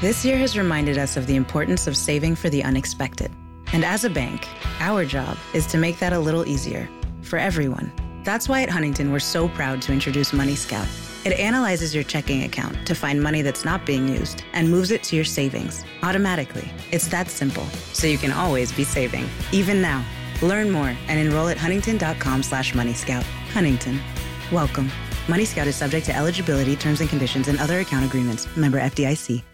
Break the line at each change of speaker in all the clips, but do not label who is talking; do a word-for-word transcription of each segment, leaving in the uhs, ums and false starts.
This year has reminded us of the importance of saving for the unexpected. And as a bank, our job is to make that a little easier for everyone. That's why at Huntington, we're so proud to introduce Money Scout. It analyzes your checking account to find money that's not being used and moves it to your savings automatically. It's that simple, so you can always be saving, even now. Learn more and enroll at huntington.com slash Money Scout. Huntington. Welcome. Money Scout is subject to eligibility, terms and conditions, and other account agreements. Member F D I C.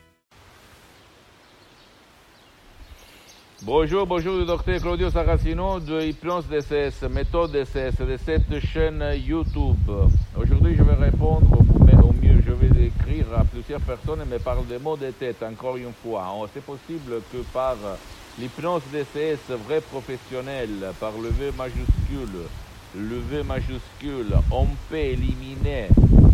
Bonjour, bonjour, le docteur Claudio Saracino de Hypnose D C S, méthode D C S, de cette chaîne YouTube. Aujourd'hui, je vais répondre au mieux. Je vais écrire à plusieurs personnes et me parle des mots de tête, encore une fois. C'est possible que par l'hypnose D C S vrai professionnel, par le V majuscule, le V majuscule, on peut éliminer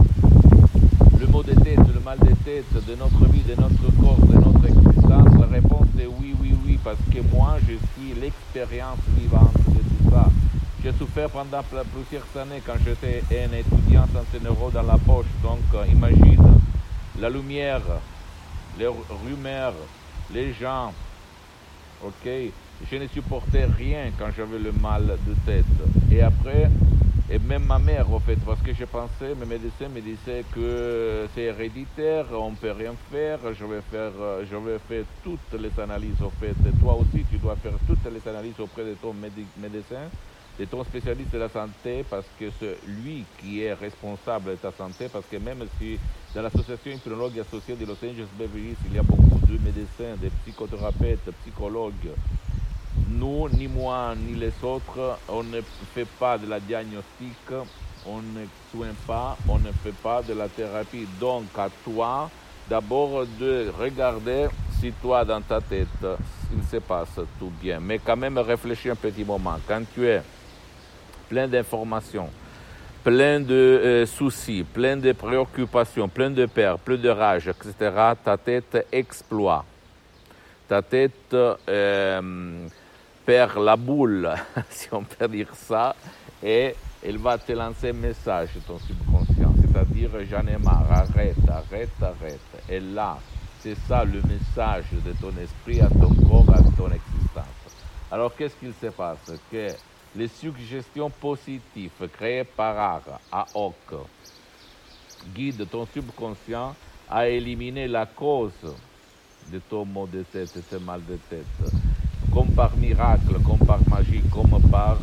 le mot de tête, le mal de tête de notre vie, de notre corps, de notre existence. La réponse est oui, oui, oui, parce que moi, je suis l'expérience vivante de tout ça. J'ai souffert pendant plusieurs années quand j'étais un étudiant sans un euro dans la poche. Donc, imagine la lumière, les rumeurs, les gens. Ok, je ne supportais rien quand j'avais le mal de tête. Et après, et même ma mère, au fait, parce que je pensais, mes médecins me disaient que c'est héréditaire, on ne peut rien faire, je vais faire, je vais faire toutes les analyses, au fait. Et toi aussi, tu dois faire toutes les analyses auprès de ton médecin, de ton spécialiste de la santé, parce que c'est lui qui est responsable de ta santé, parce que même si dans l'association hypnologue associée de Los Angeles Beverly Hills, il y a beaucoup de médecins, de psychothérapeutes, psychologues, nous, ni moi, ni les autres, on ne fait pas de la diagnostic, on ne soigne pas, on ne fait pas de la thérapie. Donc, à toi, d'abord de regarder si toi, dans ta tête, il se passe tout bien. Mais quand même, réfléchis un petit moment. Quand tu es plein d'informations, plein de euh, soucis, plein de préoccupations, plein de peur, plein de rage, et cetera, ta tête exploite. Ta tête euh, perd la boule, si on peut dire ça, et elle va te lancer un message, ton subconscient, c'est-à-dire j'en ai marre, arrête, arrête, arrête. Et là, c'est ça le message de ton esprit à ton corps, à ton existence. Alors qu'est-ce qu'il se passe? Que les suggestions positives créées par art, à hoc, guident ton subconscient à éliminer la cause de ton mot de tête, de ce mal de tête, comme par miracle, comme par magie, comme par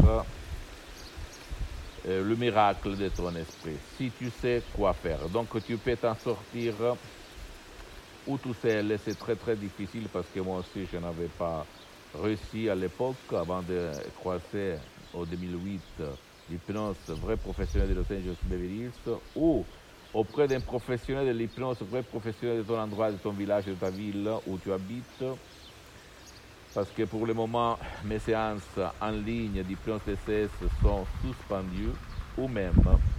euh, le miracle de ton esprit, si tu sais quoi faire. Donc tu peux t'en sortir ou tout seul, c'est très très difficile parce que moi aussi je n'avais pas réussi à l'époque, avant de croiser en deux mille huit l'hypnose vrai professionnel de Los Angeles Beverly Hills, ou auprès d'un professionnel de l'hypnose, vrai professionnel de ton endroit, de ton village, de ta ville où tu habites, parce que pour le moment, mes séances en ligne d'hypnose D C S sont suspendues, ou même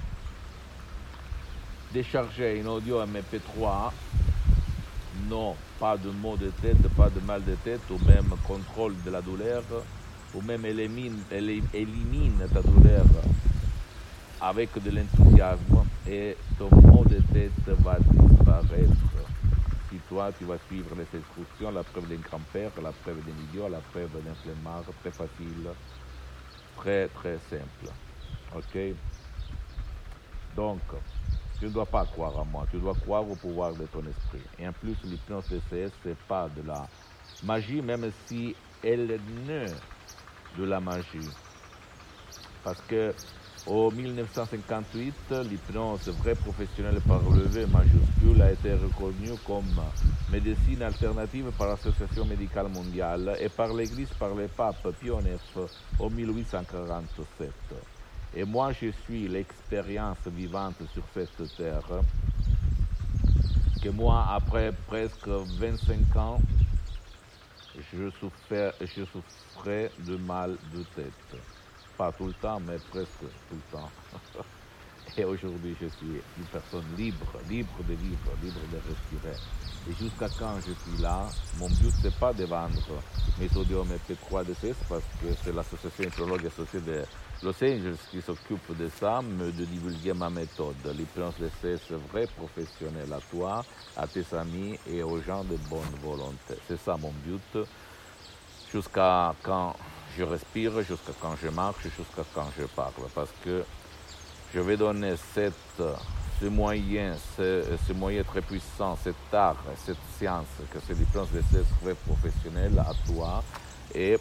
décharger une audio M P trois, non, pas de maux de tête, pas de mal de tête, ou même contrôle de la douleur, ou même élimine, élimine ta douleur avec de l'enthousiasme, et ton mot de tête va disparaître. Si toi, tu vas suivre les instructions, la preuve d'un grand-père, la preuve d'un idiot, la preuve d'un flemmard, très facile, très très simple. Ok? Donc, tu ne dois pas croire à moi, tu dois croire au pouvoir de ton esprit. Et en plus, l'hypnose D C S, ce n'est pas de la magie, même si elle est née de la magie. Parce que en mille neuf cent cinquante-huit, l'hypnose vrai professionnelle par le V majuscule a été reconnue comme médecine alternative par l'Association médicale mondiale et par l'Église, par le pape Pie neuf en mille huit cent quarante-sept. Et moi, je suis l'expérience vivante sur cette terre, que moi, après presque vingt-cinq ans, je souffrais, je souffrais de mal de tête. Pas tout le temps, mais presque tout le temps. Et aujourd'hui, je suis une personne libre, libre de vivre, libre de respirer. Et jusqu'à quand je suis là, mon but, c'est pas de vendre mes sodium et P trois D C S parce que c'est l'association épidémiologue associée de Los Angeles qui s'occupe de ça, mais de divulguer ma méthode, l'hypnose D C S vrai professionnel à toi, à tes amis et aux gens de bonne volonté. C'est ça mon but, jusqu'à quand je respire, jusqu'à quand je marche, jusqu'à quand je parle. Parce que je vais donner cette, ce moyen, ce, ce moyen très puissant, cet art, cette science, que c'est l'hypnose D C S vrai professionnel à toi et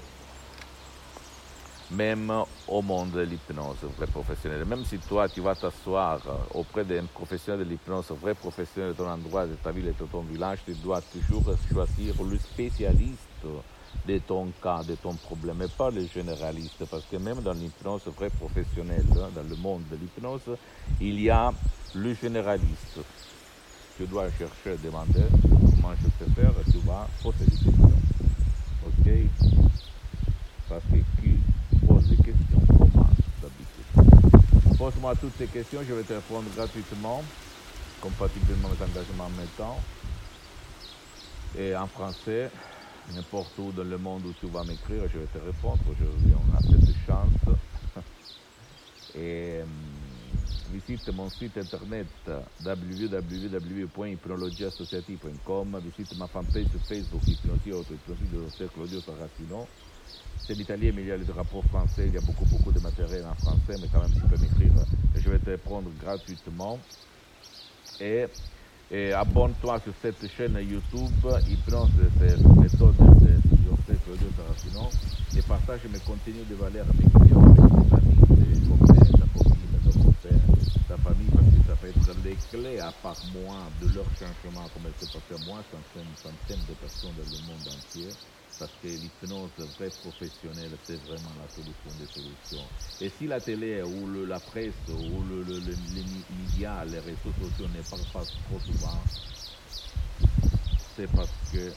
même au monde de l'hypnose vrai professionnel. Même si toi, tu vas t'asseoir auprès d'un professionnel de l'hypnose vrai professionnel de ton endroit, de ta ville et de ton village, tu dois toujours choisir le spécialiste de ton cas, de ton problème, et pas le généraliste, parce que même dans l'hypnose vrai professionnelle, dans le monde de l'hypnose, il y a le généraliste. Tu dois chercher, demander comment je peux faire, tu vas poser des questions. Ok? Parce que qui pose des questions commence d'habitude. Pose-moi toutes ces questions, je vais te répondre gratuitement, compatiblement avec l'engagement en même temps, et en français. N'importe où dans le monde où tu vas m'écrire, je vais te répondre. Aujourd'hui, on a cette chance. Et euh, visite mon site internet w w w point hypnologie associative point com. Visite ma fanpage sur Facebook, Hypnosie Auto, Hypnosie de docteur Claudio Saracino. C'est l'italien, mais il y a le drapeau français. Il y a beaucoup, beaucoup de matériel en français, mais quand même, tu peux m'écrire. Je vais te répondre gratuitement. Et Et abonne-toi sur cette chaîne YouTube, Hypnose D C S, méthode de docteur Claudio Saracino, et partage mes contenus de valeur avec mes clients, avec tes amis, tes copains, ta copine, ton père, ta famille, parce que ça peut être les clés, à part moi, de leur changement, comme elle s'est passé à moi, centaines, centaines de personnes dans le monde entier. Parce que l'hypnose vraie professionnelle, c'est vraiment la solution des solutions. Et si la télé ou le, la presse ou le, le, le, les médias, les réseaux sociaux ne parlent pas trop souvent, c'est parce que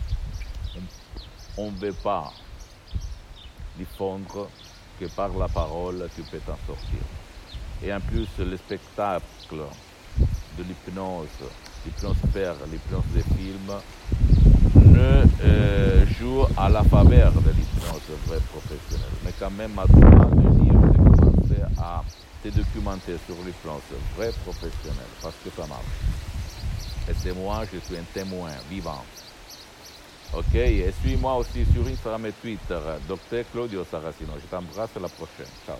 on ne veut pas diffondre que par la parole tu peux t'en sortir. Et en plus, le spectacle de l'hypnose, l'hypnose père, l'hypnose des films, ne euh, joue à la faveur de l'hypnose vraie professionnelle. Mais quand même, à toi de dire, de commencer à te documenter sur l'hypnose vraie professionnelle, parce que ça marche. Et c'est moi, je suis un témoin vivant. Ok, et suis-moi aussi sur Instagram et Twitter, docteur Claudio Saracino. Je t'embrasse, à la prochaine. Ciao.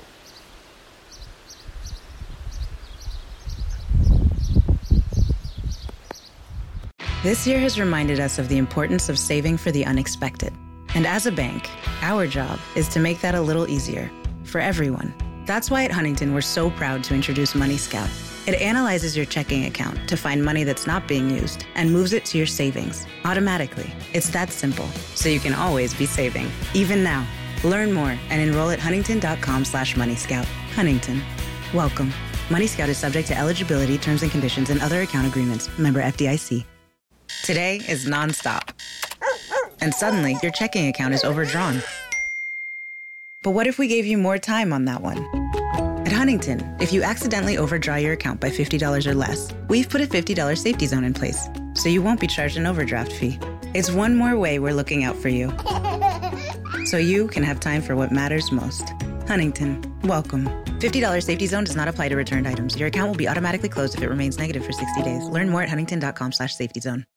This year has reminded us of the importance of saving for the unexpected. And as a bank, our job is to make that a little easier for everyone. That's why at Huntington, we're so proud to introduce Money Scout. It analyzes your checking account to find money that's not being used and moves it to your savings automatically. It's that simple, so you can always be saving, even now. Learn more and enroll at huntington.com slash Money Scout. Huntington, welcome. Money Scout is subject to eligibility, terms and conditions, and other account agreements. Member F D I C. Today is nonstop. And suddenly, your checking account is overdrawn. But what if we gave you more time on that one? At Huntington, if you accidentally overdraw your account by fifty dollars or less, we've put a fifty dollars safety zone in place, so you won't be charged an overdraft fee. It's one more way we're looking out for you, so you can have time for what matters most. Huntington, welcome. fifty dollars safety zone does not apply to returned items. Your account will be automatically closed if it remains negative for sixty days. Learn more at huntington.com slash safety zone.